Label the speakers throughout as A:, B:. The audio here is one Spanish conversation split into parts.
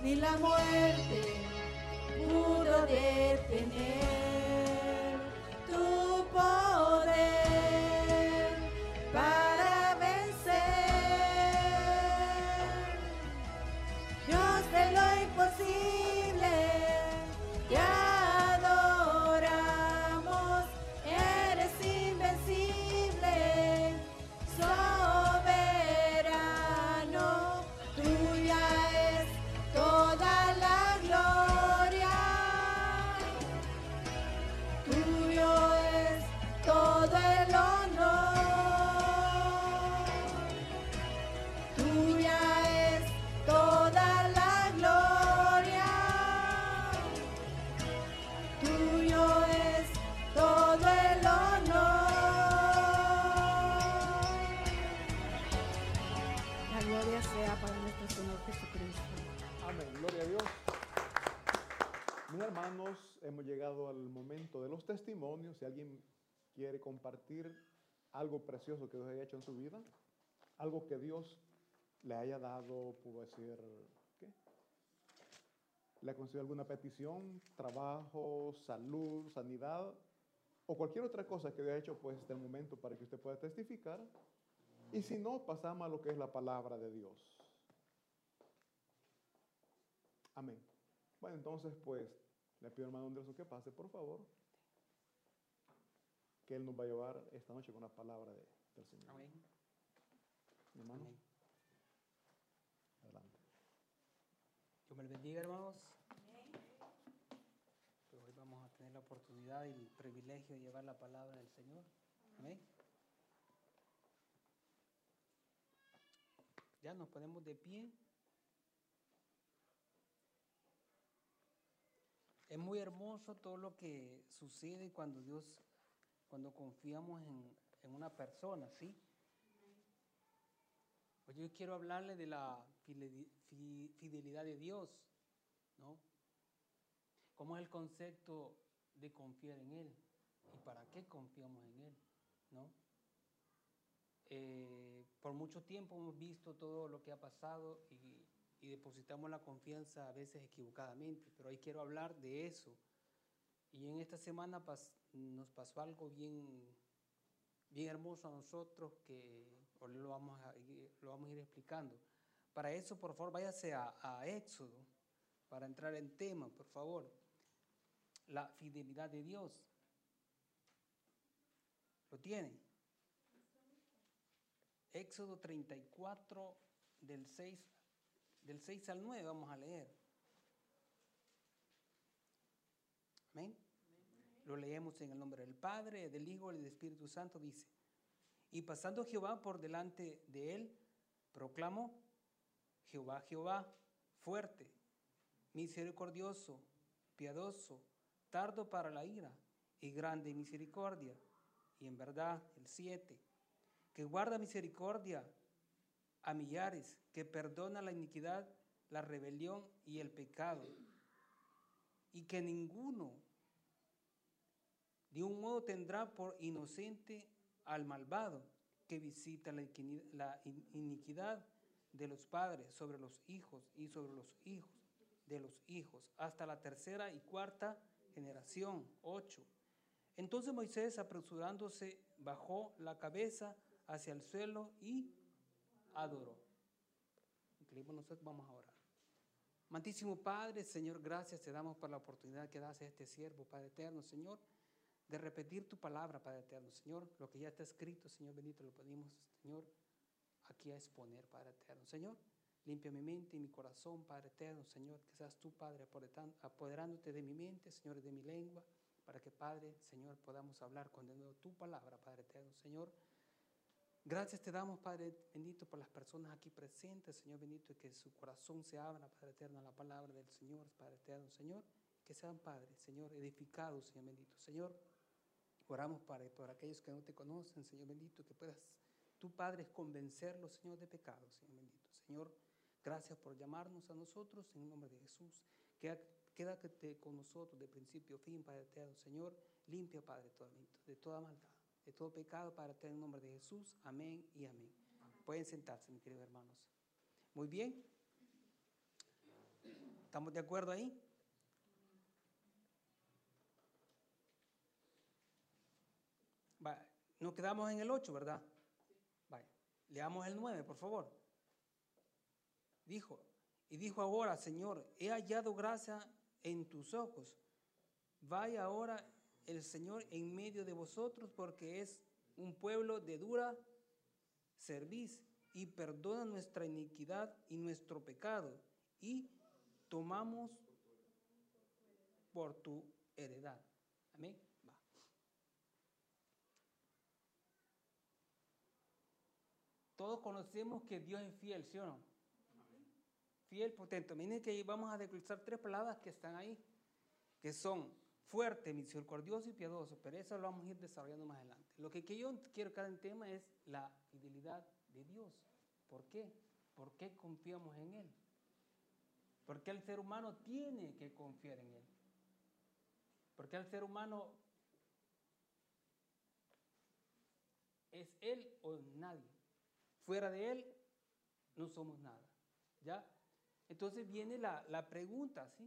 A: ni la muerte pudo detener tu poder para vencer. Dios de lo imposible, te adoramos, eres invencible, soberano, tuya es toda la gloria, tuyo es todo el honor, tuya es toda la gloria, tuyo es todo el honor. La gloria sea para nuestro Señor Jesucristo.
B: Amén, gloria a Dios. Mis hermanos, hemos llegado al momento de los testimonios. Si alguien quiere compartir algo precioso que Dios haya hecho en su vida, algo que Dios le haya dado, puedo decir, ¿qué? ¿Le ha concedido alguna petición, trabajo, salud, sanidad o cualquier otra cosa que Dios haya hecho? Pues este es el momento para que usted pueda testificar. Y si no, pasamos a lo que es la palabra de Dios. Amén. Bueno, entonces, pues, le pido al hermano Andrés que pase, por favor, que él nos va a llevar esta noche con la palabra del Señor.
C: Amén.
B: Mi hermano,
C: Amén.
B: adelante.
C: Dios me les bendiga, hermanos. Pues hoy vamos a tener la oportunidad y el privilegio de llevar la palabra del Señor. Amén. Ya nos ponemos de pie. Es muy hermoso todo lo que sucede cuando confiamos en una persona, ¿sí? Hoy yo quiero hablarle de la fidelidad de Dios, ¿no? ¿Cómo es el concepto de confiar en Él? ¿Y para qué confiamos en Él? ¿No? Por mucho tiempo hemos visto todo lo que ha pasado y depositamos la confianza a veces equivocadamente, pero hoy quiero hablar de eso. Y en esta semana nos pasó algo bien hermoso a nosotros que hoy lo vamos a ir explicando. Para eso, por favor, váyase a Éxodo, para entrar en tema, por favor. La fidelidad de Dios. ¿Lo tienen? Éxodo 34, del 6 al 9, vamos a leer. Amén. Lo leemos en el nombre del Padre, del Hijo y del Espíritu Santo. Dice: y pasando Jehová por delante de él, proclamó: Jehová, Jehová, fuerte, misericordioso, piadoso, tardo para la ira y grande en misericordia. Y en verdad, el 7, que guarda misericordia a millares, que perdona la iniquidad, la rebelión y el pecado, y que ninguno de un modo tendrá por inocente al malvado, que visita la iniquidad de los padres sobre los hijos y sobre los hijos de los hijos, hasta la tercera y cuarta generación. 8. Entonces Moisés, apresurándose, bajó la cabeza hacia el suelo y adoró. Nosotros vamos a orar. Amantísimo Padre, Señor, gracias te damos por la oportunidad que das a este siervo, Padre eterno, Señor, de repetir tu palabra, Padre eterno, Señor. Lo que ya está escrito, Señor bendito, lo pedimos, Señor, aquí a exponer, Padre eterno. Señor, limpia mi mente y mi corazón, Padre eterno, Señor, que seas tú, Padre, apoderándote de mi mente, Señor, y de mi lengua, para que, Padre, Señor, podamos hablar con de nuevo tu palabra, Padre eterno, Señor. Gracias te damos, Padre bendito, por las personas aquí presentes, Señor bendito, y que su corazón se abra, Padre eterno, a la palabra del Señor, Padre eterno, Señor, que sean, Padre, Señor, edificados, Señor bendito. Señor, oramos, Padre, por aquellos que no te conocen, Señor bendito, que puedas tú, Padre, convencerlos, Señor, de pecado, Señor bendito. Señor, gracias por llamarnos a nosotros, en el nombre de Jesús. Quédate con nosotros de principio a fin, Padre eterno, Señor. Limpia, Padre, de toda maldad, de todo pecado, Padre eterno, en el nombre de Jesús. Amén y amén. Pueden sentarse, mis queridos hermanos. Muy bien. ¿Estamos de acuerdo ahí? Vaya, nos quedamos en el 8, ¿verdad? Vaya, leamos el 9, por favor. Dijo ahora, Señor, he hallado gracia en tus ojos. Vaya ahora el Señor en medio de vosotros, porque es un pueblo de dura cerviz, y perdona nuestra iniquidad y nuestro pecado, y tomamos por tu heredad. Amén. Va. Todos conocemos que Dios es fiel, ¿sí o no? Fiel, potente. Miren que vamos a declarar 3 palabras que están ahí, que son fuerte, misericordioso y piadoso, pero eso lo vamos a ir desarrollando más adelante. Lo que yo quiero cada tema es la fidelidad de Dios. ¿Por qué? ¿Por qué confiamos en Él? Porque el ser humano tiene que confiar en Él. Porque el ser humano es Él o nadie. Fuera de Él no somos nada. ¿Ya? Entonces viene la pregunta, ¿sí?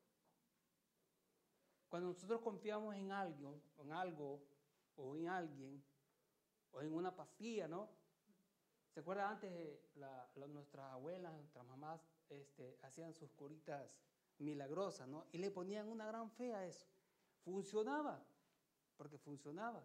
C: Cuando nosotros confiamos en algo, o en alguien, o en una pastilla, ¿no? ¿Se acuerda antes nuestras abuelas, nuestras mamás hacían sus curitas milagrosas, ¿no? Y le ponían una gran fe a eso. Funcionaba, porque funcionaba.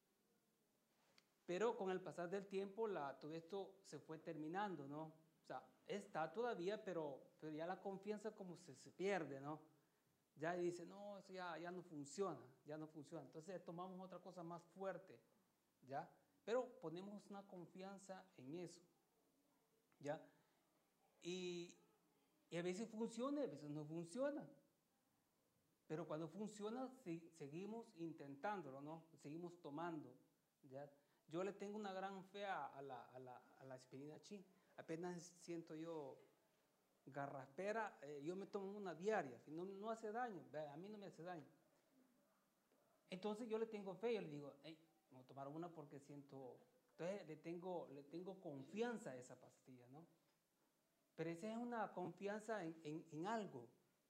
C: Pero con el pasar del tiempo todo esto se fue terminando, ¿no? O sea, está todavía, pero ya la confianza como se pierde, ¿no? Ya dice, no, eso ya no funciona, ya no funciona. Entonces tomamos otra cosa más fuerte, ¿ya? Pero ponemos una confianza en eso, ¿ya? Y a veces funciona, a veces no funciona. Pero cuando funciona, seguimos intentándolo, ¿no? Seguimos tomando, ¿ya? Yo le tengo una gran fe a la aspirina Chi. Apenas siento yo garraspera, yo me tomo una diaria, no hace daño, a mí no me hace daño. Entonces yo le tengo fe, yo le digo, hey, me voy a tomar una porque siento, entonces le tengo confianza a esa pastilla, ¿no? Pero esa es una confianza en algo.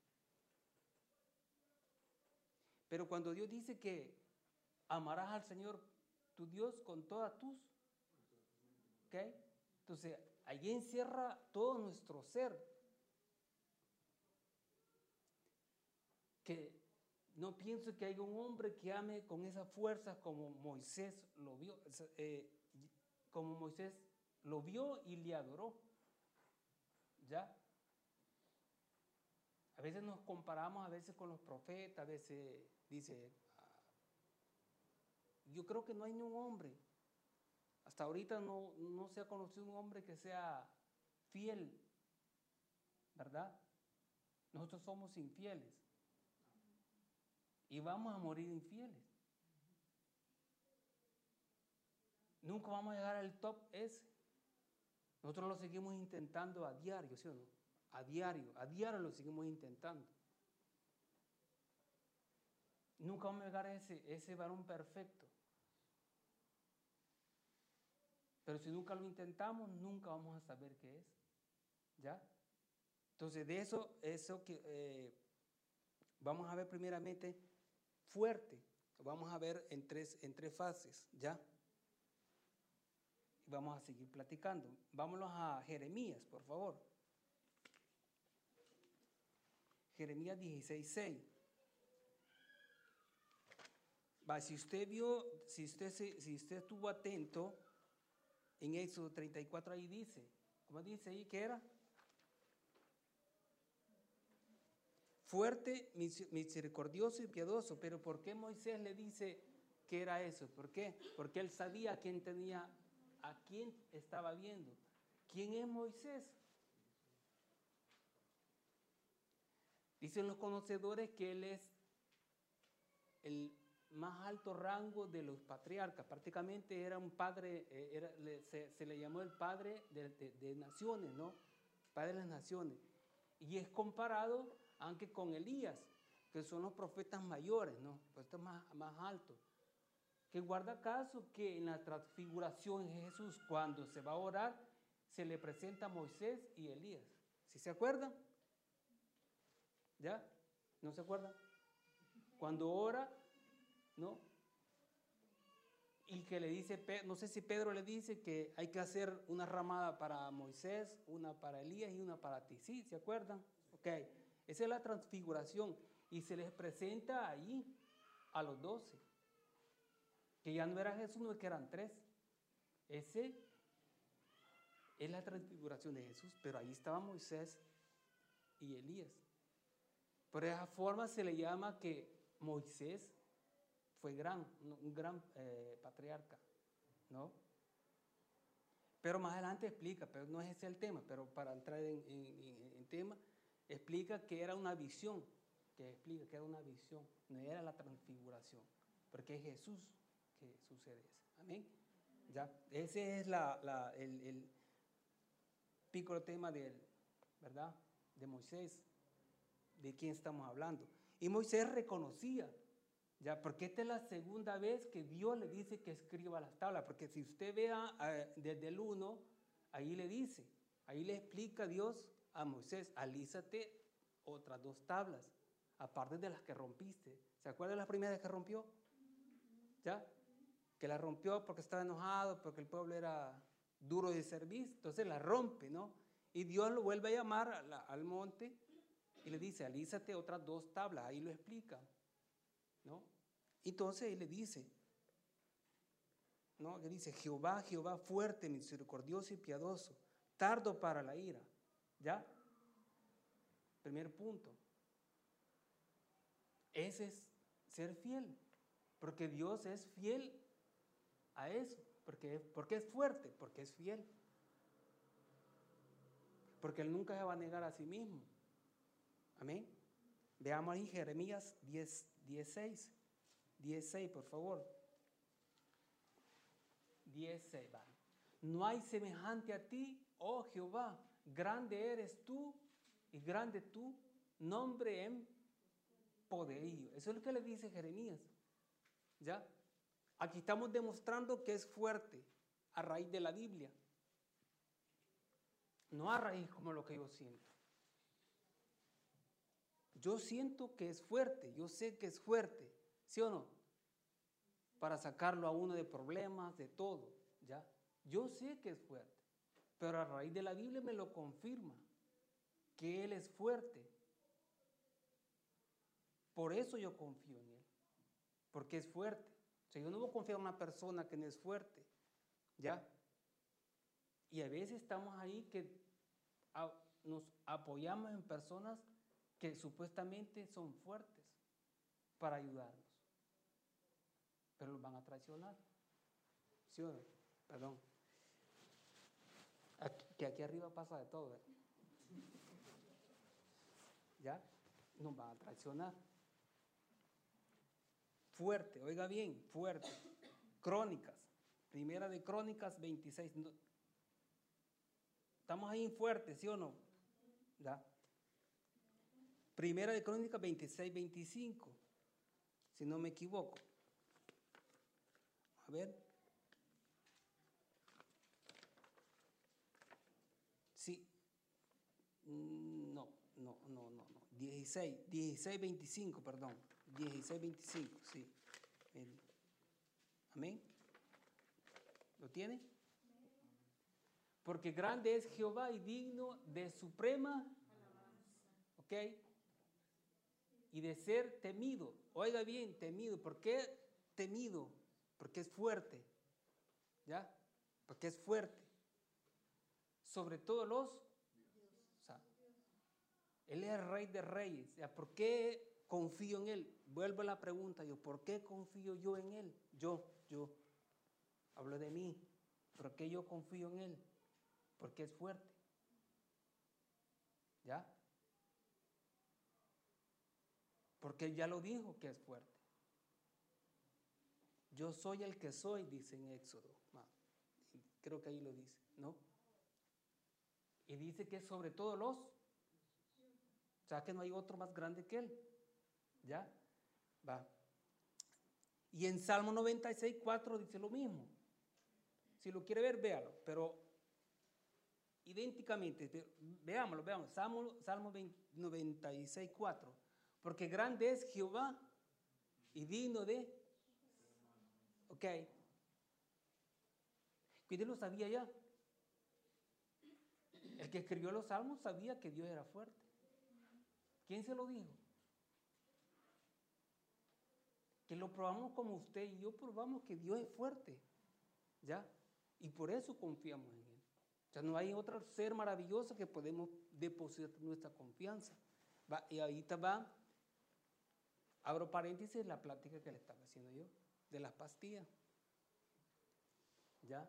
C: Pero cuando Dios dice que amarás al Señor tu Dios con todas tus, ¿ok? Entonces allí encierra todo nuestro ser. Que no pienso que haya un hombre que ame con esa fuerza como Moisés lo vio, y le adoró. ¿Ya? A veces nos comparamos a veces con los profetas, a veces dice, yo creo que no hay ni un hombre, hasta ahorita no se ha conocido un hombre que sea fiel, ¿verdad? Nosotros somos infieles. Y vamos a morir infieles. Nunca vamos a llegar al top ese. Nosotros lo seguimos intentando a diario, ¿sí o no? A diario lo seguimos intentando. Nunca vamos a llegar a ese varón perfecto. Pero si nunca lo intentamos, nunca vamos a saber qué es. ¿Ya? Entonces, de eso que vamos a ver primeramente fuerte. Vamos a ver en tres fases, ¿ya? Y vamos a seguir platicando. Vámonos a Jeremías, por favor. Jeremías 16:6. Si usted estuvo atento, en Éxodo 34 ahí dice, ¿cómo dice ahí que era? Fuerte, misericordioso y piadoso. Pero ¿por qué Moisés le dice que era eso? ¿Por qué? Porque él sabía a quién estaba viendo. ¿Quién es Moisés? Dicen los conocedores que él es el más alto rango de los patriarcas. Prácticamente era un padre, se le llamó el padre de naciones, ¿no? Padre de las naciones. Y es comparado aunque con Elías, que son los profetas mayores, ¿no? Profetas más altos. Que guarda caso que en la transfiguración de Jesús, cuando se va a orar, se le presenta a Moisés y Elías. ¿Sí se acuerdan? ¿Ya? ¿No se acuerdan? Cuando ora, ¿no? Y que le dice, no sé si Pedro le dice que hay que hacer una ramada para Moisés, una para Elías y una para ti. ¿Sí? ¿Se acuerdan? Ok. Esa es la transfiguración. Y se les presenta ahí a los 12. Que ya no era Jesús, no es que eran 3. Ese es la transfiguración de Jesús. Pero ahí estaba Moisés y Elías. Por esa forma se le llama que Moisés fue un gran patriarca, ¿no? Pero más adelante explica, pero no es ese el tema, pero para entrar en tema, explica que era una visión, no era la transfiguración, porque es Jesús que sucede eso. Amén. Ya, ese es el pico tema ¿verdad? De Moisés, de quién estamos hablando. Y Moisés reconocía, ya, porque esta es la segunda vez que Dios le dice que escriba las tablas, porque si usted vea desde el 1, ahí le explica Dios a Moisés, alízate otras 2 tablas, aparte de las que rompiste. ¿Se acuerdan de las primeras que rompió? ¿Ya? Que las rompió porque estaba enojado, porque el pueblo era duro de servir, entonces la rompe, ¿no? Y Dios lo vuelve a llamar al monte y le dice, alízate otras 2 tablas, ahí lo explica, ¿no? Entonces él le dice, ¿no? Le dice, Jehová, Jehová, fuerte, misericordioso y piadoso, tardo para la ira. ¿Ya? Primer punto. Ese es ser fiel, porque Dios es fiel a eso. Porque es fuerte, porque es fiel. Porque Él nunca se va a negar a sí mismo. Amén. Veamos ahí Jeremías 10:6. 10:6, por favor. 10:6, vale. No hay semejante a ti, oh Jehová, grande eres tú y grande tu nombre en poderío. Eso es lo que le dice Jeremías. ¿Ya? Aquí estamos demostrando que es fuerte a raíz de la Biblia. No a raíz como lo que yo siento. Yo siento que es fuerte, yo sé que es fuerte. ¿Sí o no? Para sacarlo a uno de problemas, de todo, ¿ya? Yo sé que es fuerte, pero a raíz de la Biblia me lo confirma, que Él es fuerte. Por eso yo confío en Él, porque es fuerte. O sea, yo no voy a confiar en una persona que no es fuerte, ¿ya? Y a veces estamos ahí que nos apoyamos en personas que supuestamente son fuertes para ayudarnos. Pero los van a traicionar. ¿Sí o no? Perdón. Que aquí arriba pasa de todo. ¿Ya? Nos van a traicionar. Fuerte, oiga bien, fuerte. Crónicas. Primera de Crónicas 26. Estamos ahí en fuerte, ¿sí o no? ¿Ya? Primera de Crónicas 26, 25. Si no me equivoco. A ver. Sí. No. 16, 25, perdón. 16, 25, sí. Amén. ¿Lo tiene? Porque grande es Jehová y digno de suprema alabanza. ¿Ok? Y de ser temido. Oiga bien, temido. ¿Por qué temido? Porque es fuerte. ¿Ya? Porque es fuerte. Sobre todo o sea, Él es el Rey de Reyes. O sea, ¿por qué confío en Él? Vuelvo a la pregunta yo. ¿Por qué confío yo en Él? Yo. Hablo de mí. ¿Por qué yo confío en Él? Porque es fuerte. ¿Ya? Porque Él ya lo dijo que es fuerte. Yo soy el que soy, dice en Éxodo. Creo que ahí lo dice, ¿no? Y dice que es sobre todos los. O sea que no hay otro más grande que Él. ¿Ya? Va. Y en Salmo 96, 4 dice lo mismo. Si lo quiere ver, véalo. Pero idénticamente. Veámoslo. Salmo 96, 4. Porque grande es Jehová y digno de... Ok. ¿Quién lo sabía ya? El que escribió los salmos sabía que Dios era fuerte. ¿Quién se lo dijo? Que lo probamos como usted y yo probamos que Dios es fuerte. ¿Ya? Y por eso confiamos en Él. O sea, no hay otro ser maravilloso que podemos depositar nuestra confianza. Y ahorita abro paréntesis, la plática que le estaba haciendo yo, de las pastillas. ¿Ya?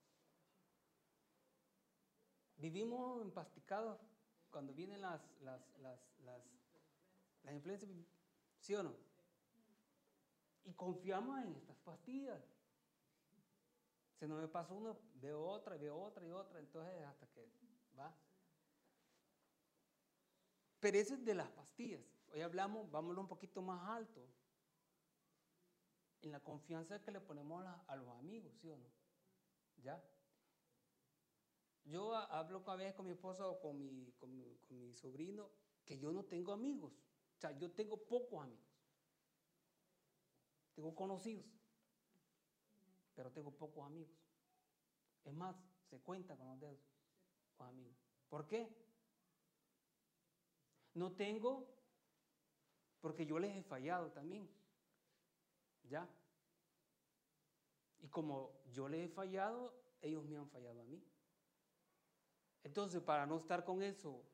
C: Vivimos empasticados cuando vienen las influencias, ¿sí o no? Y confiamos en estas pastillas. Si no me pasa uno, veo otra, entonces hasta que va. Pero eso es de las pastillas. Hoy hablamos, vámonos un poquito más alto, en la confianza que le ponemos a los amigos, ¿sí o no? ¿Ya? Yo hablo a veces con mi esposa o con mi sobrino que yo no tengo amigos. O sea, yo tengo pocos amigos. Tengo conocidos, pero tengo pocos amigos. Es más, se cuenta con los dedos, los amigos. ¿Por qué? No tengo, porque yo les he fallado también. ¿Ya? Y como yo les he fallado, ellos me han fallado a mí. Entonces, para no estar con eso,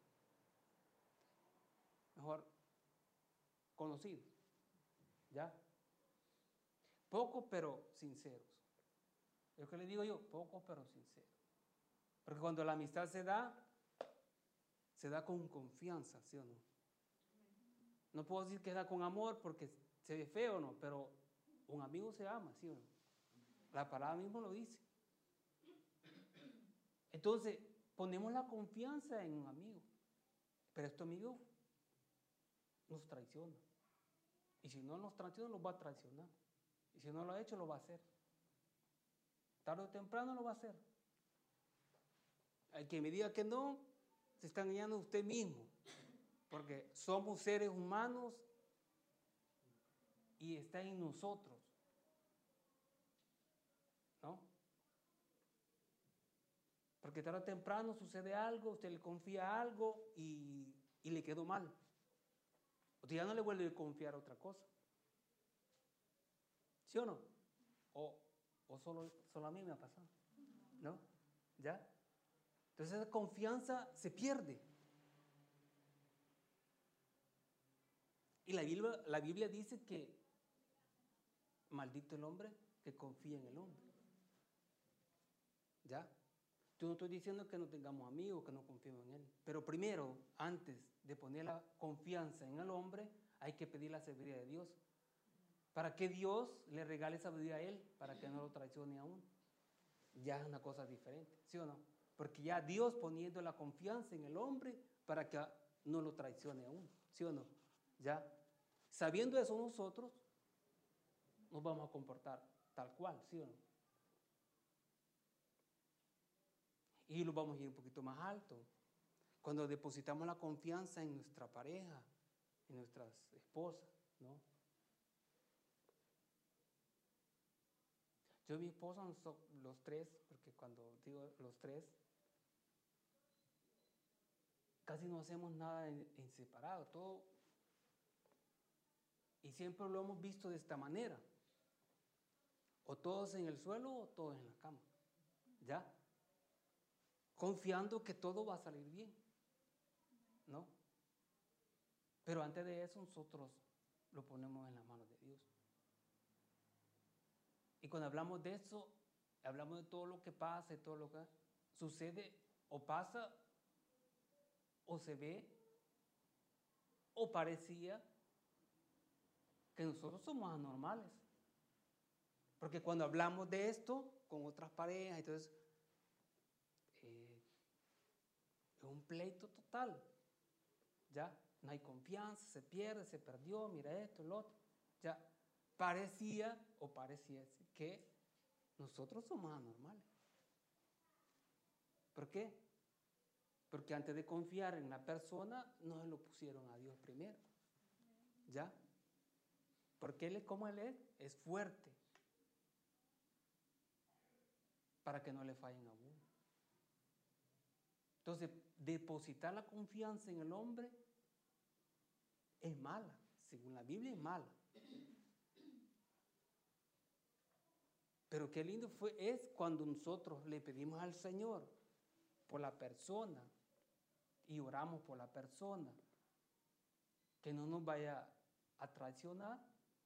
C: mejor conocidos. ¿Ya? Pocos pero sinceros. Es lo que le digo yo, pocos pero sinceros. Porque cuando la amistad se da con confianza, ¿sí o no? No puedo decir que da con amor porque se ve feo o no, pero un amigo se ama, ¿sí o no? La palabra mismo lo dice. Entonces, ponemos la confianza en un amigo, pero este amigo nos traiciona. Y si no nos traiciona, nos va a traicionar. Y si no lo ha hecho, lo va a hacer. Tarde o temprano lo va a hacer. El que me diga que no, se está engañando a usted mismo. Porque somos seres humanos y está en nosotros. ¿No? Porque tarde o temprano sucede algo, usted le confía algo y le quedó mal. Usted ya no le vuelve a confiar otra cosa. ¿Sí o no? O solo a mí me ha pasado. ¿No? ¿Ya? Entonces esa confianza se pierde. Y la Biblia dice que maldito el hombre que confía en el hombre. ¿Ya? Yo no estoy diciendo que no tengamos amigos, que no confiemos en él. Pero primero, antes de poner la confianza en el hombre, hay que pedir la sabiduría de Dios. Para que Dios le regale sabiduría a él, para que no lo traicione aún. Ya es una cosa diferente, ¿sí o no? Porque ya Dios poniendo la confianza en el hombre para que no lo traicione aún, ¿sí o no? Ya, sabiendo eso nosotros, nos vamos a comportar tal cual, ¿sí o no? Y lo vamos a ir un poquito más alto. Cuando depositamos la confianza en nuestra pareja, en nuestras esposas, ¿no? Yo y mi esposa, los tres, porque cuando digo los tres, casi no hacemos nada en separado, todo. Y siempre lo hemos visto de esta manera. O todos en el suelo o todos en la cama. ¿Ya? Confiando que todo va a salir bien. ¿No? Pero antes de eso nosotros lo ponemos en las manos de Dios. Y cuando hablamos de eso, hablamos de todo lo que pasa, de todo lo que sucede o pasa o se ve o parecía que nosotros somos anormales. Porque cuando hablamos de esto con otras parejas, entonces es un pleito total. ¿Ya? No hay confianza, se pierde, se perdió, mira esto, lo otro. Ya parecía que nosotros somos anormales. ¿Por qué? Porque antes de confiar en la persona, no se lo pusieron a Dios primero. ¿Ya? Porque Él es como Él es fuerte. Para que no le fallen a uno. Entonces, depositar la confianza en el hombre es mala. Según la Biblia es mala. Pero qué lindo es cuando nosotros le pedimos al Señor por la persona y oramos por la persona, que no nos vaya a traicionar.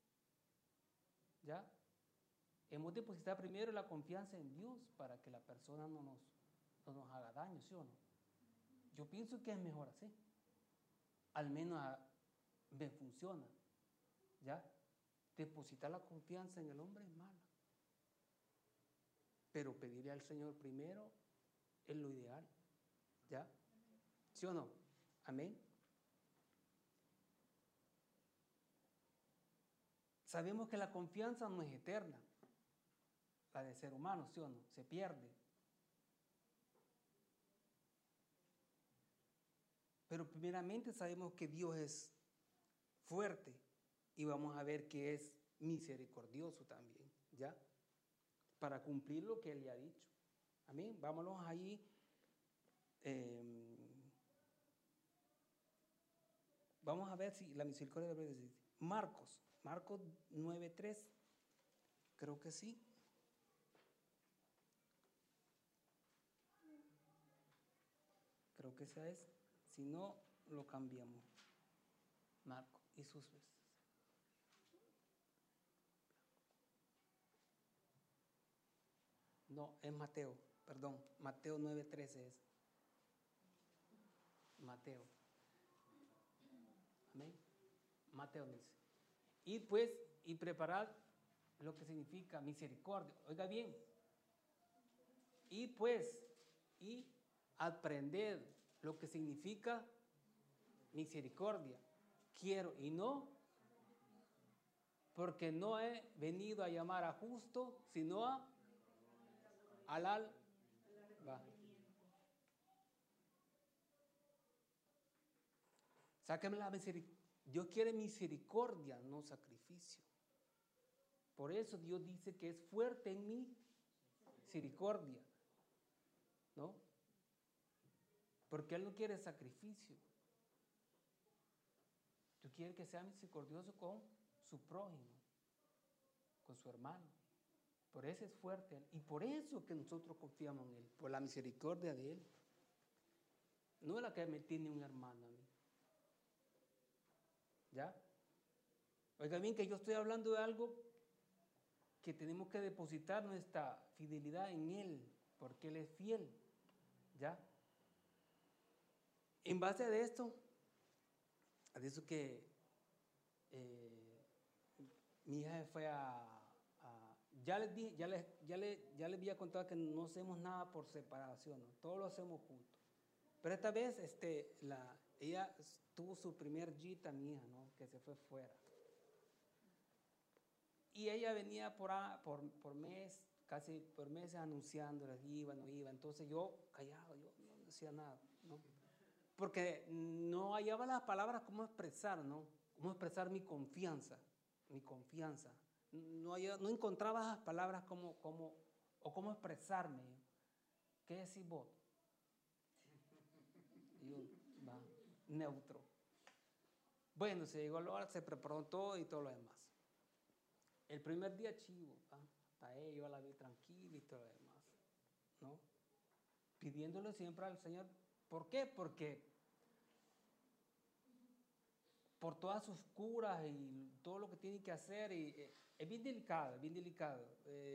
C: ¿Ya? Hemos depositado primero la confianza en Dios para que la persona no nos haga daño, ¿sí o no? Yo pienso que es mejor así. Al menos me funciona. ¿Ya? Depositar la confianza en el hombre es mala. Pero pedirle al Señor primero es lo ideal. ¿Ya? ¿Sí o no? Amén. Sabemos que la confianza no es eterna. La de ser humano, ¿sí o no? Se pierde. Pero primeramente sabemos que Dios es fuerte y vamos a ver que es misericordioso también, ¿ya? Para cumplir lo que Él le ha dicho. Amén. Vámonos ahí. Vamos a ver si la misericordia de Dios. Marcos 9:3. Creo que sí. Creo que esa es. Si no, lo cambiamos. Marcos y sus veces. No, es Mateo, perdón. Mateo 9:13 es. Mateo. Amén. Mateo dice. Y pues, y preparad lo que significa misericordia. Oiga bien. Y pues, y aprended lo que significa misericordia. Quiero y no, porque no he venido a llamar a justo, sino al alba. Sáqueme la misericordia. Dios quiere misericordia, no sacrificio. Por eso Dios dice que es fuerte en mi misericordia, ¿no? Porque Él no quiere sacrificio. Dios quiere que sea misericordioso con su prójimo, con su hermano. Por eso es fuerte Él. Y por eso que nosotros confiamos en Él, por la misericordia de Él. No es la que me tiene un hermano a mí. ¿Ya? Oiga bien que yo estoy hablando de algo que tenemos que depositar nuestra fidelidad en Él, porque Él es fiel. ¿Ya? En base a esto que mi hija fue ya les había contado que no hacemos nada por separación, ¿no? Todo lo hacemos juntos. Pero esta vez ella tuvo su primer gita, mi hija, ¿no? Que se fue fuera. Y ella venía por mes, casi por meses anunciándoles, iba, no iba. Entonces yo callado, yo no decía nada, ¿no? Porque no hallaba las palabras cómo expresar, ¿no? Cómo expresar mi confianza. No encontraba las palabras cómo expresarme. ¿Qué decís vos? Y yo, va, neutro. Bueno, se llegó la hora, se preparó todo y todo lo demás. El primer día chivo, hasta ella yo la vi tranquila y todo lo demás, ¿no? Pidiéndole siempre al Señor. ¿Por qué? Porque por todas sus curas y todo lo que tiene que hacer, es bien delicado, bien delicado.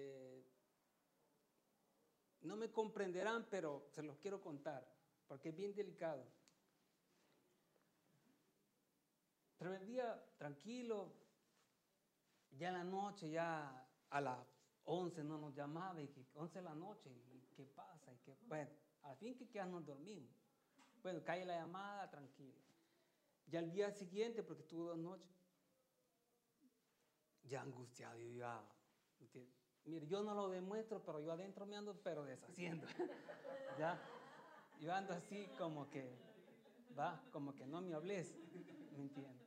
C: No me comprenderán, pero se los quiero contar, porque es bien delicado. Pero el día tranquilo, ya en la noche, ya a las 11 no nos llamaba, y que 11 de la noche, y qué pasa, bueno, al fin que ya nos dormimos. Bueno, cae la llamada, tranquilo. Ya el día siguiente, porque estuvo 2 noches, ya angustiado, mire, yo no lo demuestro, pero yo adentro me ando, pero deshaciendo. ¿Ya? Yo ando así como que, como que no me hables, ¿me entiendes?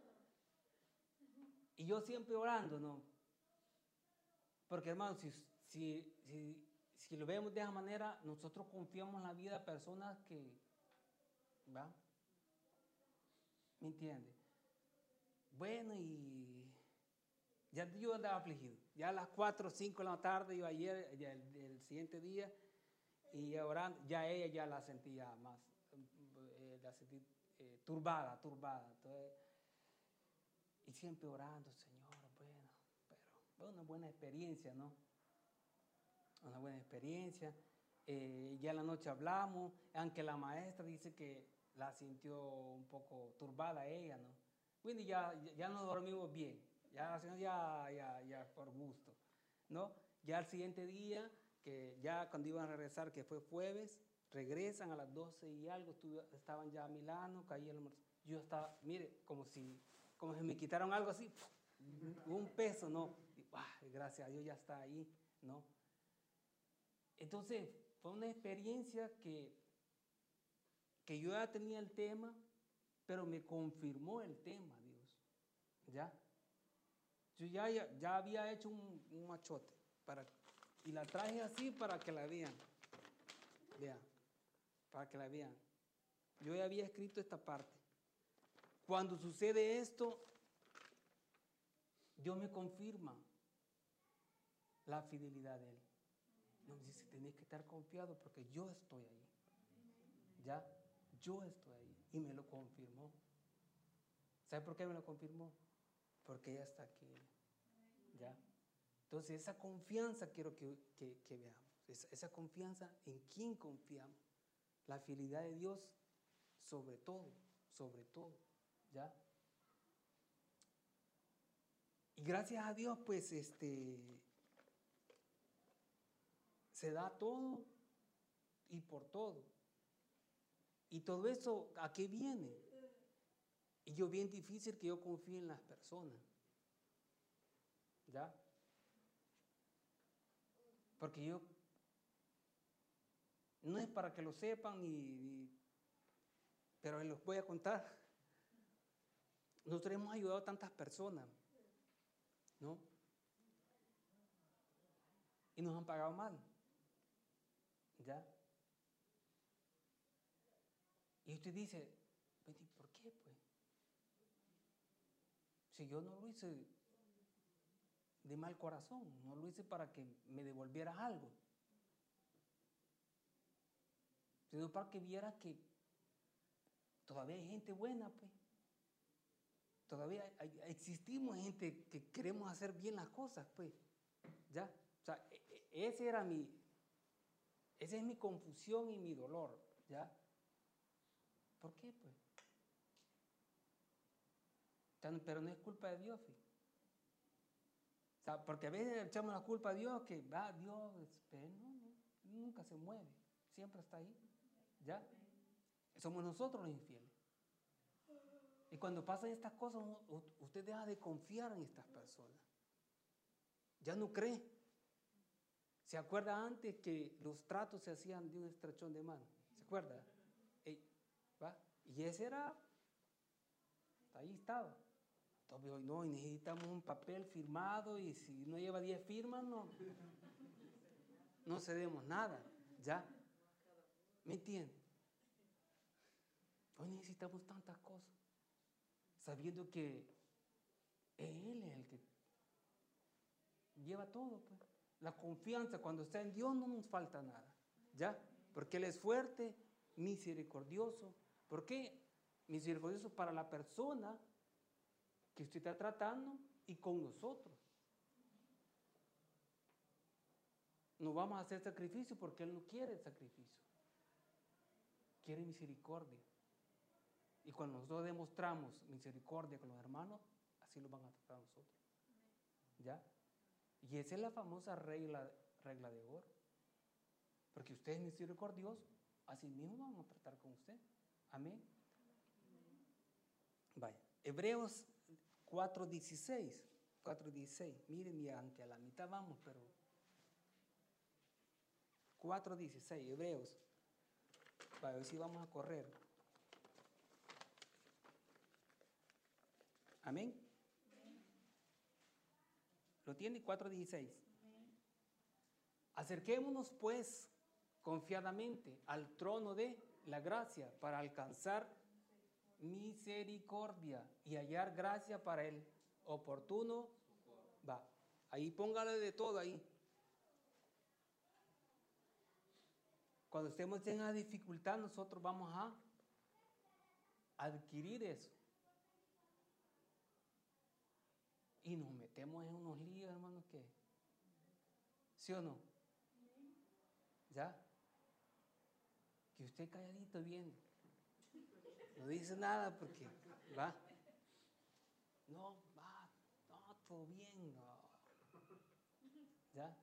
C: Y yo siempre orando, ¿no? Porque hermano, si lo vemos de esa manera, nosotros confiamos en la vida de personas que, ¿va? ¿Me entiende? Bueno, y ya yo andaba afligido. Ya a las 4 o 5 de la tarde, yo ayer, ya el siguiente día, y ya orando, ya ella ya la sentía más, la sentí turbada. Entonces, y siempre orando, Señor, bueno, pero fue una buena experiencia, ¿no? Una buena experiencia. Ya en la noche hablamos, aunque la maestra dice que la sintió un poco turbada ella, ¿no? Bueno, ya nos dormimos bien, ya por gusto, ¿no? Ya al siguiente día, que ya cuando iban a regresar, que fue jueves, regresan a las 12 y algo, estaban ya a Milano, caí el almuerzo. Yo estaba, mire, como si me quitaron algo así, un peso, ¿no? Y, gracias a Dios ya está ahí, ¿no? Entonces, fue una experiencia que yo ya tenía el tema, pero me confirmó el tema, Dios. ¿Ya? Yo ya había hecho un machote y la traje así para que la vean. Vean, para que la vean. Yo ya había escrito esta parte. Cuando sucede esto, Dios me confirma la fidelidad de Él. No, me dice, tenés que estar confiado porque yo estoy ahí. ¿Ya? Yo estoy ahí. Y me lo confirmó. ¿Sabe por qué me lo confirmó? Porque ella está aquí. ¿Ya? Entonces esa confianza quiero que veamos. Esa confianza en quién confiamos. La fidelidad de Dios sobre todo. ¿Ya? Y gracias a Dios, pues, se da todo y por todo. Y todo eso, ¿a qué viene? Y yo bien difícil que yo confíe en las personas. ¿Ya? Porque yo, no es para que lo sepan, pero les voy a contar. Nosotros hemos ayudado a tantas personas, ¿no? Y nos han pagado mal. ¿Ya? Y usted dice, ¿por qué, pues? Si yo no lo hice de mal corazón, no lo hice para que me devolviera algo, sino para que viera que todavía hay gente buena, pues. Todavía existimos gente que queremos hacer bien las cosas, pues. ¿Ya? O sea, esa es mi confusión y mi dolor, ¿ya? ¿Por qué, pues? Pero no es culpa de Dios, ¿sí? O sea, porque a veces echamos la culpa a Dios, que va, Dios, pero no, nunca se mueve, siempre está ahí, ¿ya? Somos nosotros los infieles. Y cuando pasan estas cosas, usted deja de confiar en estas personas. Ya no cree. ¿Se acuerda antes que los tratos se hacían de un estrechón de mano? ¿Se acuerda? ¿Va? Y ese era, ahí estaba. Entonces hoy no, y necesitamos un papel firmado y si no lleva 10 firmas, no cedemos nada. ¿Ya? ¿Me entiende? Hoy necesitamos tantas cosas, sabiendo que Él es el que lleva todo, pues. La confianza cuando está en Dios no nos falta nada, ¿ya? Porque Él es fuerte, misericordioso. ¿Por qué? Misericordioso para la persona que usted está tratando y con nosotros. No vamos a hacer sacrificio porque Él no quiere sacrificio. Quiere misericordia. Y cuando nosotros demostramos misericordia con los hermanos, así lo van a tratar a nosotros. ¿Ya? Y esa es la famosa regla de oro. Porque usted es misericordioso, así mismo vamos a tratar con usted. Amén. Vaya, Hebreos 4:16. Miren, y aunque a la mitad vamos, pero 4:16, Hebreos. Para ver si vamos a correr. Amén. ¿Lo tiene? 4:16. Acerquémonos pues confiadamente al trono de la gracia para alcanzar misericordia y hallar gracia para el oportuno. Va, ahí póngale de todo ahí. Cuando estemos en la dificultad, nosotros vamos a adquirir eso. Y nos metemos en unos líos, hermanos, que ¿sí o no? ¿Ya? Que usted calladito viendo. No dice nada porque va. No, va, no, todo bien. No. ¿Ya?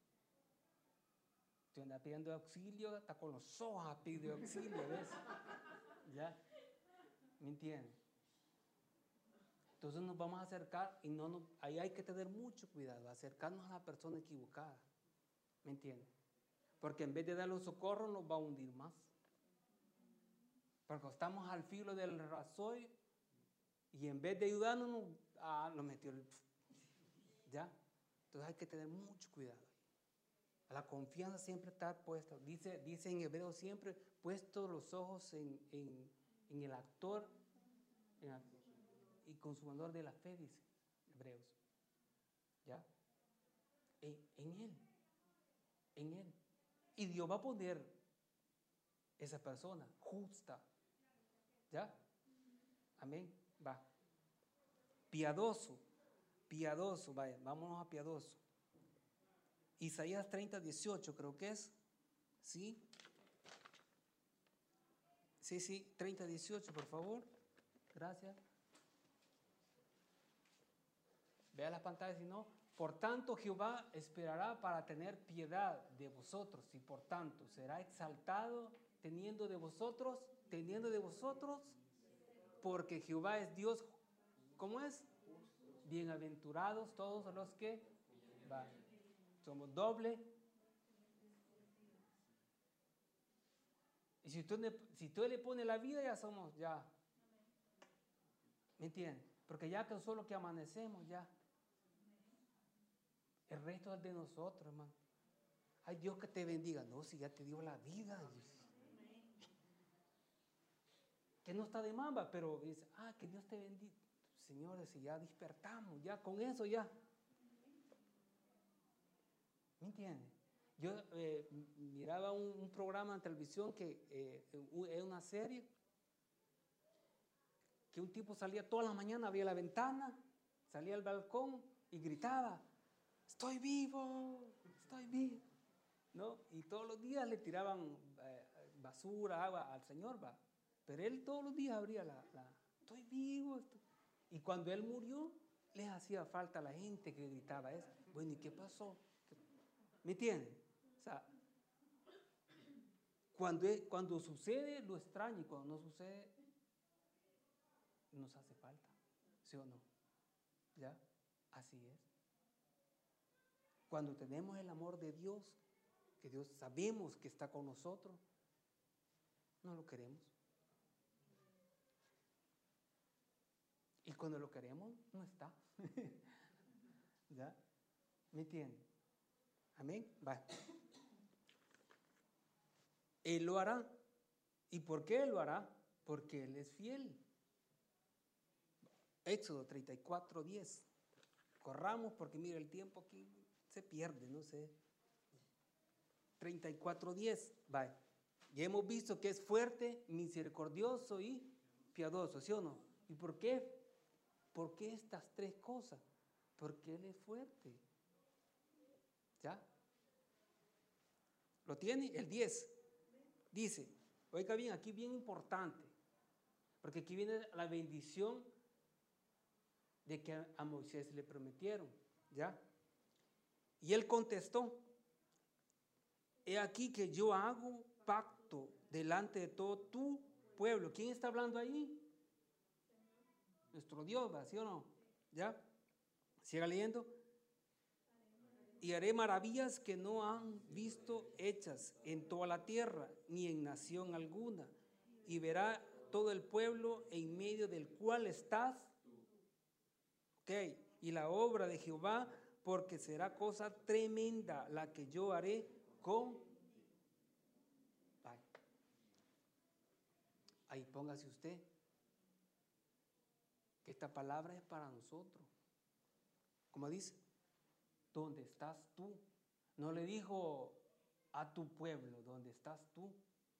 C: Usted anda pidiendo auxilio, está con los ojos a pedir auxilio, ¿ves? ¿Ya? ¿Me entiende? Entonces nos vamos a acercar y ahí hay que tener mucho cuidado, acercarnos a la persona equivocada. ¿Me entiende? Porque en vez de darle socorro nos va a hundir más. Porque estamos al filo del rasoy y en vez de ayudarnos nos metió el... ¿Ya? Entonces hay que tener mucho cuidado. La confianza siempre está puesta. Dice en Hebreos siempre, puestos los ojos en el actor y consumador de la fe, dice Hebreos. ¿Ya? En Él. En Él. Y Dios va a poner esa persona justa. ¿Ya? Amén. Va. Piadoso. Piadoso. Vaya, vámonos a piadoso. Isaías 30:18 creo que es. ¿Sí? Sí, 30:18 por favor. Gracias. Vea las pantallas si no. Por tanto Jehová esperará para tener piedad de vosotros y por tanto será exaltado teniendo de vosotros, porque Jehová es Dios, ¿cómo es? Bienaventurados todos los que van. Somos doble. Y si tú le pones la vida, ya somos, ya. ¿Me entiendes? Porque ya que solo que amanecemos, ya. El resto es de nosotros, hermano. Ay, Dios que te bendiga. No, si ya te dio la vida. Que no está de mamba, pero dice, que Dios te bendiga. Señores, si ya despertamos, ya con eso ya. ¿Me entiendes? Yo miraba un programa en televisión que es una serie que un tipo salía toda la mañana, abría la ventana, salía al balcón y gritaba, estoy vivo, ¿no? Y todos los días le tiraban basura, agua al Señor, va. Pero él todos los días abría estoy vivo. Y cuando él murió, les hacía falta a la gente que gritaba eso. Bueno, ¿y qué pasó? ¿Me entienden? O sea, cuando sucede lo extraño y cuando no sucede nos hace falta, ¿sí o no? ¿Ya? Así es. Cuando tenemos el amor de Dios, que Dios sabemos que está con nosotros, no lo queremos. Y cuando lo queremos, no está. ¿Ya? ¿Me entienden? Amén. Va. Él lo hará. ¿Y por qué Él lo hará? Porque Él es fiel. Éxodo 34:10. Corramos porque mira el tiempo aquí se pierde, no sé. 34:10. Va. Ya hemos visto que es fuerte, misericordioso y piadoso, ¿sí o no? ¿Y por qué? ¿Por qué estas tres cosas? Porque Él es fuerte. ¿Ya? ¿Lo tiene? El 10. Dice, oiga bien, aquí bien importante, porque aquí viene la bendición de que a Moisés le prometieron, ¿ya? Y él contestó, he aquí que yo hago pacto delante de todo tu pueblo. ¿Quién está hablando ahí? Nuestro Dios, ¿sí o no? ¿Ya? Siga leyendo. y haré maravillas que no han visto hechas en toda la tierra, ni en nación alguna. Y verá todo el pueblo en medio del cual estás. Ok, y la obra de Jehová, porque será cosa tremenda la que yo haré con... Ahí póngase usted, que esta palabra es para nosotros. Como dice, ¿dónde estás tú? No le dijo a tu pueblo, ¿dónde estás tú?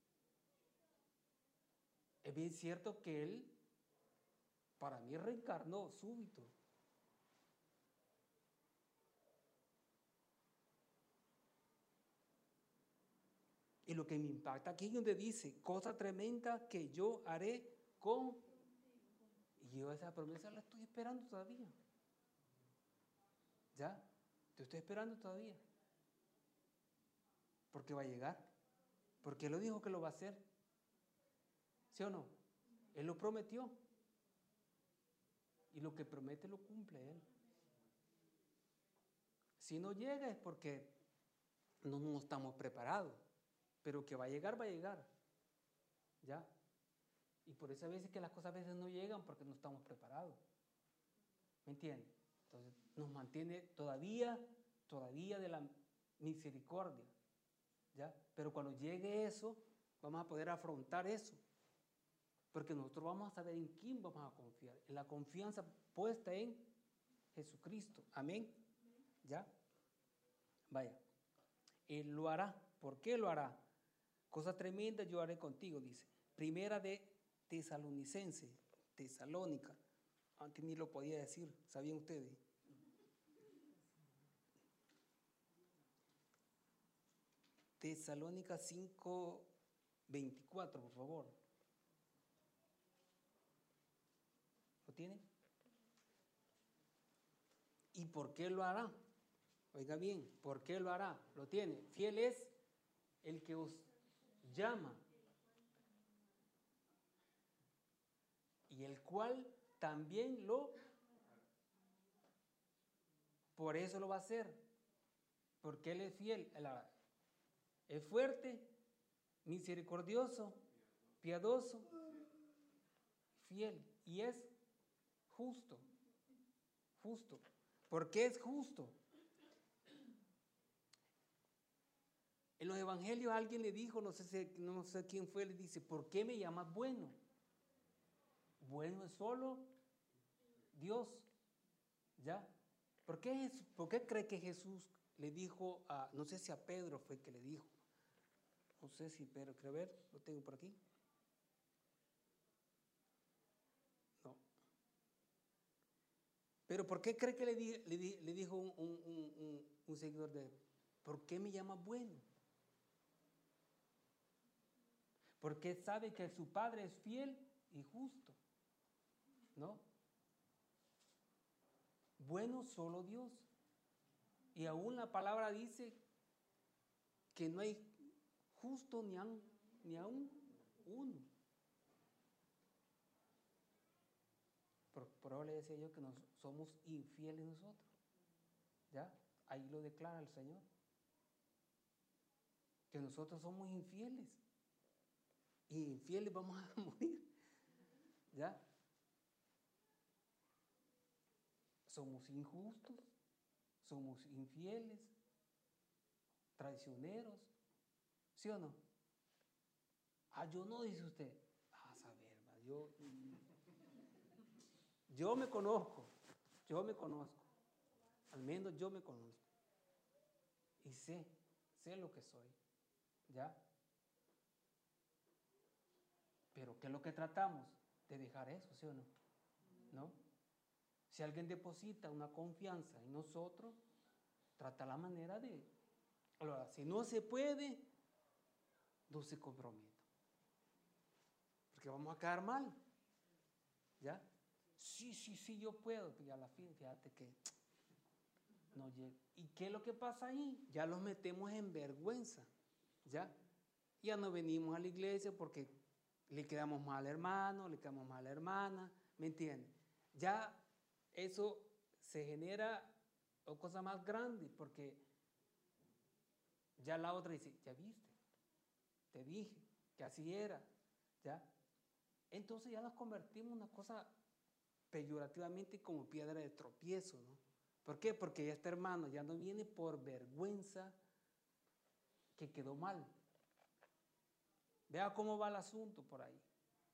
C: Es bien cierto que él, para mí, reencarnó súbito. Y lo que me impacta aquí es donde dice, cosa tremenda que yo haré con... Y yo esa promesa la estoy esperando todavía. ¿Ya? Te estoy esperando todavía. Porque va a llegar. Porque Él lo dijo que lo va a hacer. ¿Sí o no? Él lo prometió. Y lo que promete lo cumple Él. Si no llega es porque no estamos preparados. Pero que va a llegar, va a llegar. ¿Ya? Y por eso a veces que las cosas a veces no llegan porque no estamos preparados. ¿Me entiendes? Entonces nos mantiene todavía de la misericordia. ¿Ya? Pero cuando llegue eso, vamos a poder afrontar eso. Porque nosotros vamos a saber en quién vamos a confiar. En la confianza puesta en Jesucristo. Amén. ¿Ya? Vaya. Él lo hará. ¿Por qué lo hará? Cosa tremenda yo haré contigo, dice. Primera de Tesalónica. Antes ni lo podía decir, ¿sabían ustedes? Tesalónica 5:24, por favor. ¿Lo tiene? ¿Y por qué lo hará? Oiga bien, ¿por qué lo hará? Lo tiene. Fiel es el que os llama, y el cual también por eso lo va a hacer, porque Él es fiel, es fuerte, misericordioso, piadoso, fiel, y es justo. ¿Por qué es justo? En los evangelios alguien le dijo, no sé quién fue, le dice, ¿por qué me llamas bueno? Bueno es solo Dios. ¿Ya? ¿Por qué cree que Jesús le dijo no sé si a Pedro fue que le dijo? No sé si Pedro, quiero ver, lo tengo por aquí. No. Pero ¿por qué cree que le dijo un seguidor de él? ¿Por qué me llamas bueno? Porque sabe que su Padre es fiel y justo, ¿no? Bueno solo Dios. Y aún la palabra dice que no hay justo ni aún uno. Por ahora le decía yo que somos infieles nosotros. ¿Ya? Ahí lo declara el Señor. Que nosotros somos infieles. Y infieles vamos a morir. ¿Ya? Somos injustos, somos infieles, traicioneros. ¿Sí o no? Yo no, dice usted. A saber, yo me conozco. Al menos yo me conozco. Y sé lo que soy. ¿Ya? Pero ¿qué es lo que tratamos? De dejar eso, ¿sí o no? ¿No? Si alguien deposita una confianza en nosotros, trata la manera de... Ahora, si no se puede, no se comprometa. Porque vamos a quedar mal. ¿Ya? Sí, yo puedo. Y a la fin, fíjate que no llega. ¿Y qué es lo que pasa ahí? Ya los metemos en vergüenza. ¿Ya? Ya no venimos a la iglesia porque le quedamos mal al hermano, le quedamos mal a la hermana. ¿Me entiendes? Ya eso se genera cosa más grande porque Ya la otra dice, ya viste, te dije que así era, ¿ya? Entonces ya nos convertimos en una cosa peyorativamente como piedra de tropiezo, ¿no? ¿Por qué? Porque ya este hermano ya no viene por vergüenza que quedó mal. Vea cómo va el asunto por ahí.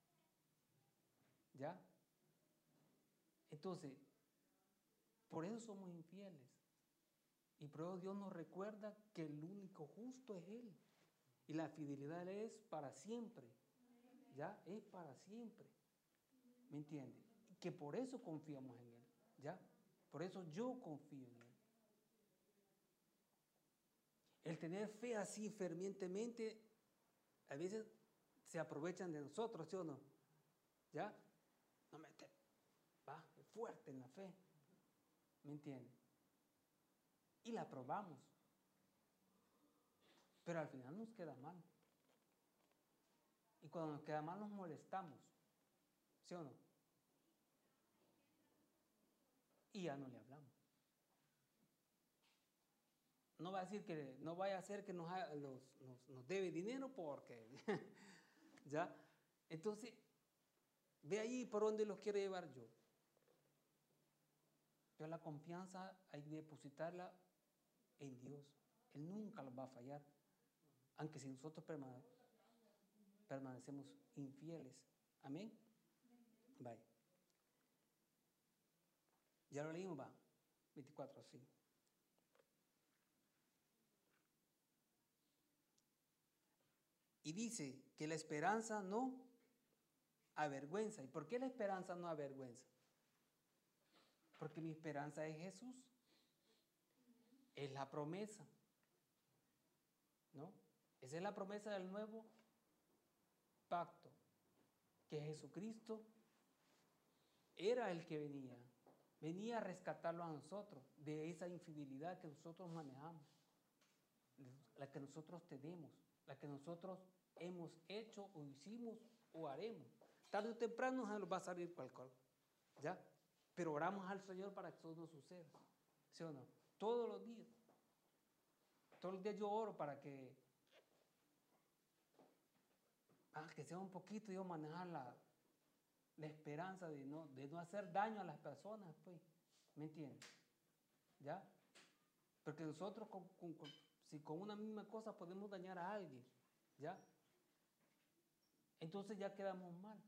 C: ¿Ya? Entonces, por eso somos infieles. Y por eso Dios nos recuerda que el único justo es Él. Y la fidelidad de Él es para siempre. ¿Ya? Es para siempre. ¿Me entiende? Y que por eso confiamos en Él. ¿Ya? Por eso yo confío en Él. El tener fe así fervientemente, a veces se aprovechan de nosotros, ¿sí o no? ¿Ya? No me va fuerte en la fe. ¿Me entiende? Y la probamos. Pero al final nos queda mal. Y cuando nos queda mal nos molestamos. ¿Sí o no? Y ya no le hablamos. No va a decir que, no vaya a ser que nos debe dinero porque, ¿ya? Entonces, ve ahí por dónde los quiero llevar yo. Pero la confianza hay que depositarla en Dios. Él nunca los va a fallar. Aunque si nosotros permanecemos infieles. Amén. Vaya. Ya lo leímos, va. 24, sí. Y dice que la esperanza no avergüenza. ¿Y por qué la esperanza no avergüenza? Porque mi esperanza es Jesús. Es la promesa. ¿No? Esa es la promesa del nuevo pacto. Que Jesucristo era el que venía a rescatarlo a nosotros de esa infidelidad que nosotros manejamos, la que nosotros tenemos, la que nosotros hemos hecho o hicimos o haremos. Tarde o temprano nos va a salir cualquier, ¿ya? Pero oramos al Señor para que eso no suceda, ¿sí o no? Todos los días yo oro para que sea un poquito yo manejar la esperanza de no hacer daño a las personas, pues, ¿me entiendes? ¿Ya? Porque nosotros si con una misma cosa podemos dañar a alguien, ¿ya? Entonces ya quedamos mal.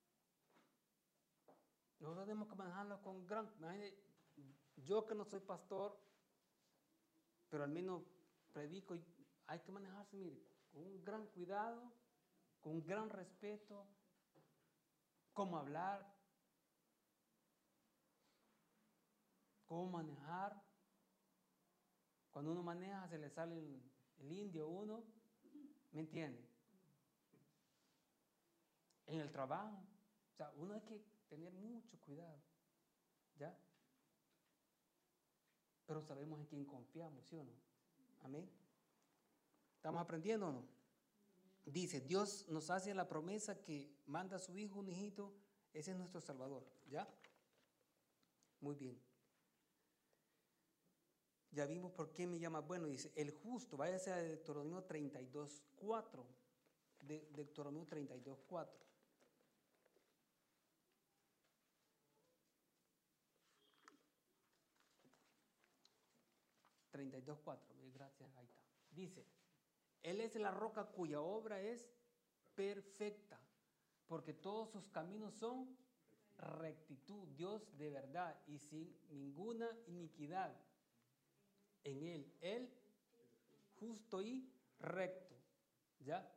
C: Nosotros tenemos que manejarlo con yo que no soy pastor, pero al menos predico, y hay que manejarse, mire, con un gran cuidado, con un gran respeto, cómo hablar, cómo manejar. Cuando uno maneja se le sale el indio a uno, ¿me entiende? En el trabajo, o sea, uno hay que tener mucho cuidado, ¿ya? Pero sabemos en quién confiamos, ¿sí o no? Amén. ¿Estamos aprendiendo o no? Dice, Dios nos hace la promesa que manda a su hijo un hijito, ese es nuestro Salvador, ¿ya? Muy bien. Ya vimos por qué me llama bueno, dice, el justo, váyase a Deuteronomio 32:4, Deuteronomio 32:4. Gracias, ahí está. Dice, Él es la roca cuya obra es perfecta, porque todos sus caminos son rectitud, Dios de verdad y sin ninguna iniquidad en Él justo y recto, ¿ya?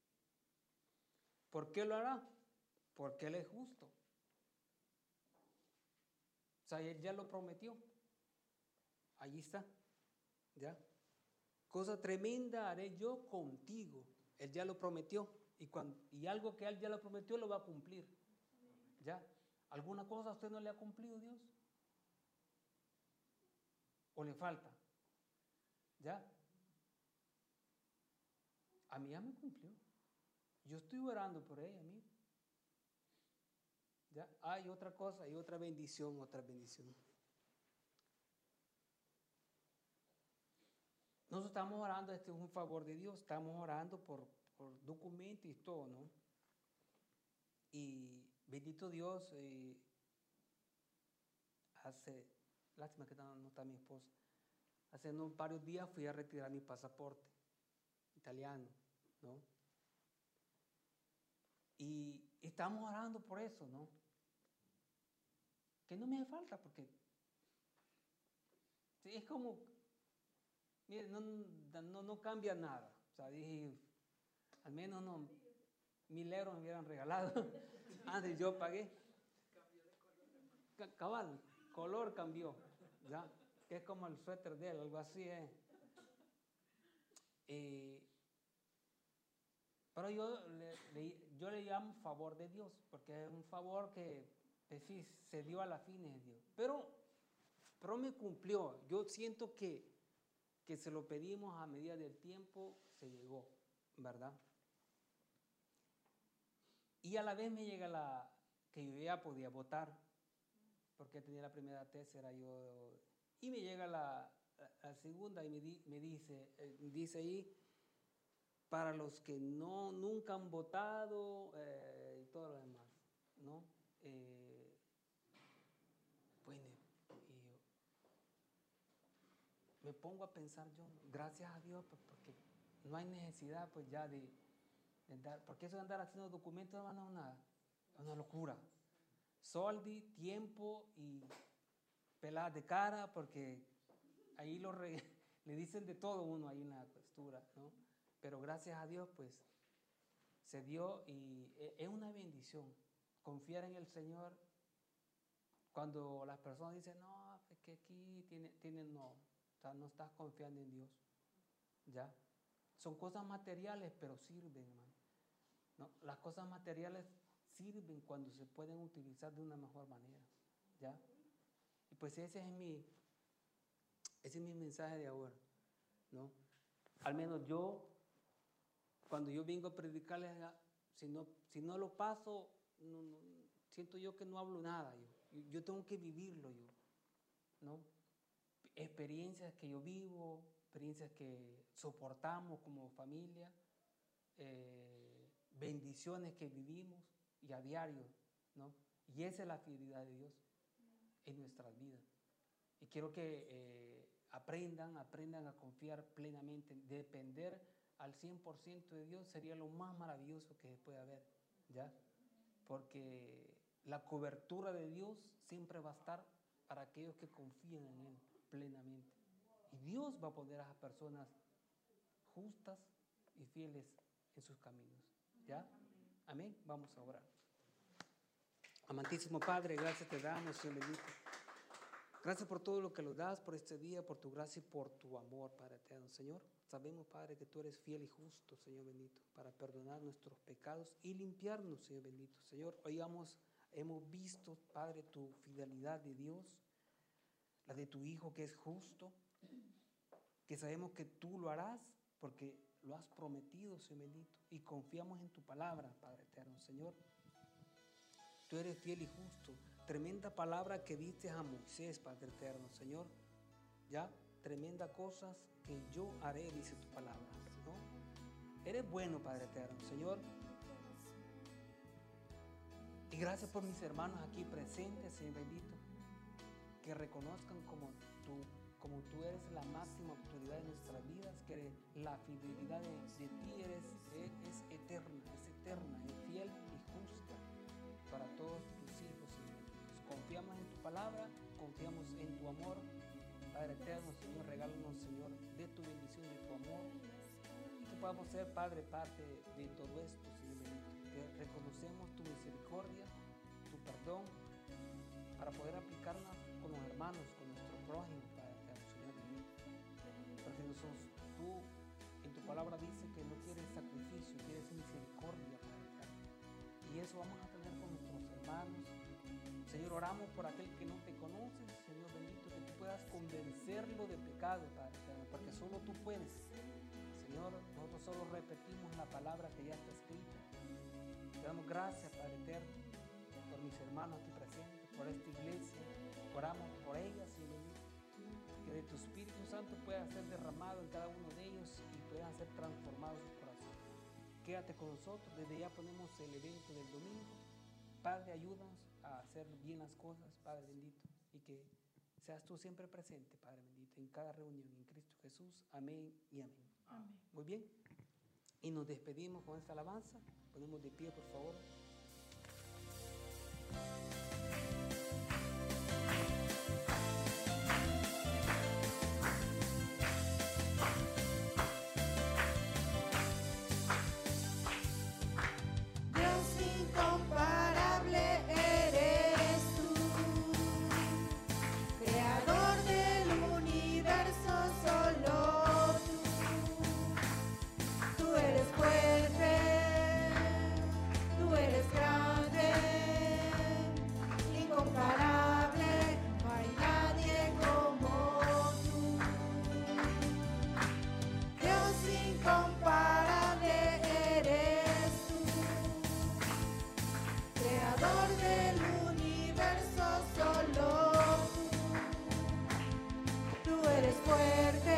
C: ¿Por qué lo hará? Porque Él es justo. O sea, Él ya lo prometió. Allí está, ¿ya? Cosa tremenda haré yo contigo. Él ya lo prometió. Y algo que Él ya lo prometió lo va a cumplir. ¿Ya? ¿Alguna cosa a usted no le ha cumplido Dios? ¿O le falta? ¿Ya? A mí ya me cumplió. Yo estoy orando por ella, mí. ¿Ya? Hay otra cosa, hay otra bendición, nosotros estamos orando, este es un favor de Dios, estamos orando por documentos y todo, ¿no? Y bendito Dios, lástima que no está mi esposa, hace varios días fui a retirar mi pasaporte italiano, ¿no? Y estamos orando por eso, ¿no? Que no me hace falta, porque sí, es como, mire, no cambia nada. O sea, dije, al menos no, 1,000 euros me hubieran regalado. Antes yo pagué. Cabal, color cambió, ¿ya? Que es como el suéter de él, algo así es. Pero yo le llamo favor de Dios, porque es un favor que sí, se dio a la fines de Dios. Pero me cumplió. Yo siento que se lo pedimos a medida del tiempo, se llegó, ¿verdad? Y a la vez me llega que yo ya podía votar, porque tenía la primera, tercera, y me llega la segunda y me dice ahí, para los que nunca han votado y todo lo demás, ¿no? Bueno, y me pongo a pensar yo, gracias a Dios, pues, porque no hay necesidad pues ya de andar, porque eso de andar haciendo documentos no es una locura. Soldi, tiempo y peladas de cara, porque ahí le dicen de todo uno ahí en la costura, ¿no? Pero gracias a Dios, pues, se dio y es una bendición confiar en el Señor. Cuando las personas dicen, no, es que aquí no, o sea, no estás confiando en Dios, ¿ya? Son cosas materiales, pero sirven, hermano, ¿no? Las cosas materiales sirven cuando se pueden utilizar de una mejor manera, ¿ya? Y pues ese es mi mensaje de ahora, ¿no? Al menos yo, cuando yo vengo a predicarles, si no lo paso, siento yo que no hablo nada. Yo tengo que vivirlo yo, ¿no? Experiencias que yo vivo, experiencias que soportamos como familia, bendiciones que vivimos y a diario, ¿no? Y esa es la fidelidad de Dios en nuestras vidas. Y quiero que aprendan a confiar plenamente, depender al 100% de Dios sería lo más maravilloso que puede haber, ¿ya? Porque la cobertura de Dios siempre va a estar para aquellos que confían en Él plenamente. Y Dios va a poner a esas personas justas y fieles en sus caminos, ¿ya? Amén. Vamos a orar. Amantísimo Padre, gracias te damos, Señor bendito. Gracias por todo lo que nos das, por este día, por tu gracia y por tu amor, Padre eterno. Señor, sabemos, Padre, que tú eres fiel y justo, Señor bendito, para perdonar nuestros pecados y limpiarnos, Señor bendito. Señor, hoy hemos visto, Padre, tu fidelidad de Dios, la de tu Hijo que es justo, que sabemos que tú lo harás porque lo has prometido, Señor bendito, y confiamos en tu palabra, Padre eterno. Señor, tú eres fiel y justo. Tremenda palabra que diste a Moisés, Padre eterno, Señor. Ya, tremenda cosas que yo haré, dice tu palabra, ¿no? Eres bueno, Padre eterno, Señor. Y gracias por mis hermanos aquí presentes, Señor bendito, que reconozcan como tú eres la máxima autoridad en nuestras vidas, que la fidelidad de ti es eterna, es fiel y justa para todos tus hijos, Señor. Confiamos en tu palabra, confiamos en tu amor, Padre eterno, Señor, regálanos, Señor, de tu bendición, de tu amor, que podamos ser, Padre, parte de todo esto, Señor bendito, que reconocemos tu misericordia, tu perdón, para poder aplicarla con los hermanos, con nuestro prójimo, Padre eterno, Señor bendito, porque tú, en tu palabra dice que no quieres sacrificio, quieres misericordia, Padre eterno, y eso vamos a tener con nuestros hermanos. Señor, oramos por aquel que no te conoce, Señor bendito, que tú puedas convencerlo de pecado, Padre eterno, porque solo tú puedes. Señor, nosotros solo repetimos la palabra que ya está escrita. Te damos gracias, Padre eterno, por mis hermanos aquí presentes, por esta iglesia. Oramos por ellas, Señor bendito, que de tu Espíritu Santo pueda ser derramado en cada uno de ellos y puedan ser transformados sus corazones. Quédate con nosotros, desde ya ponemos el evento del domingo. Padre, ayúdanos a hacer bien las cosas, Padre bendito, y que seas tú siempre presente, Padre bendito, en cada reunión, en Cristo Jesús. Amén y amén.
A: Amén.
C: Muy bien, y nos despedimos con esta alabanza. Ponemos de pie, por favor.
A: Dios incomparable eres tú, creador del universo, solo tú eres fuerte, tú eres grande, incomparable, no hay nadie como tú. Dios incomparable eres tú, creador del universo, solo tú eres fuerte,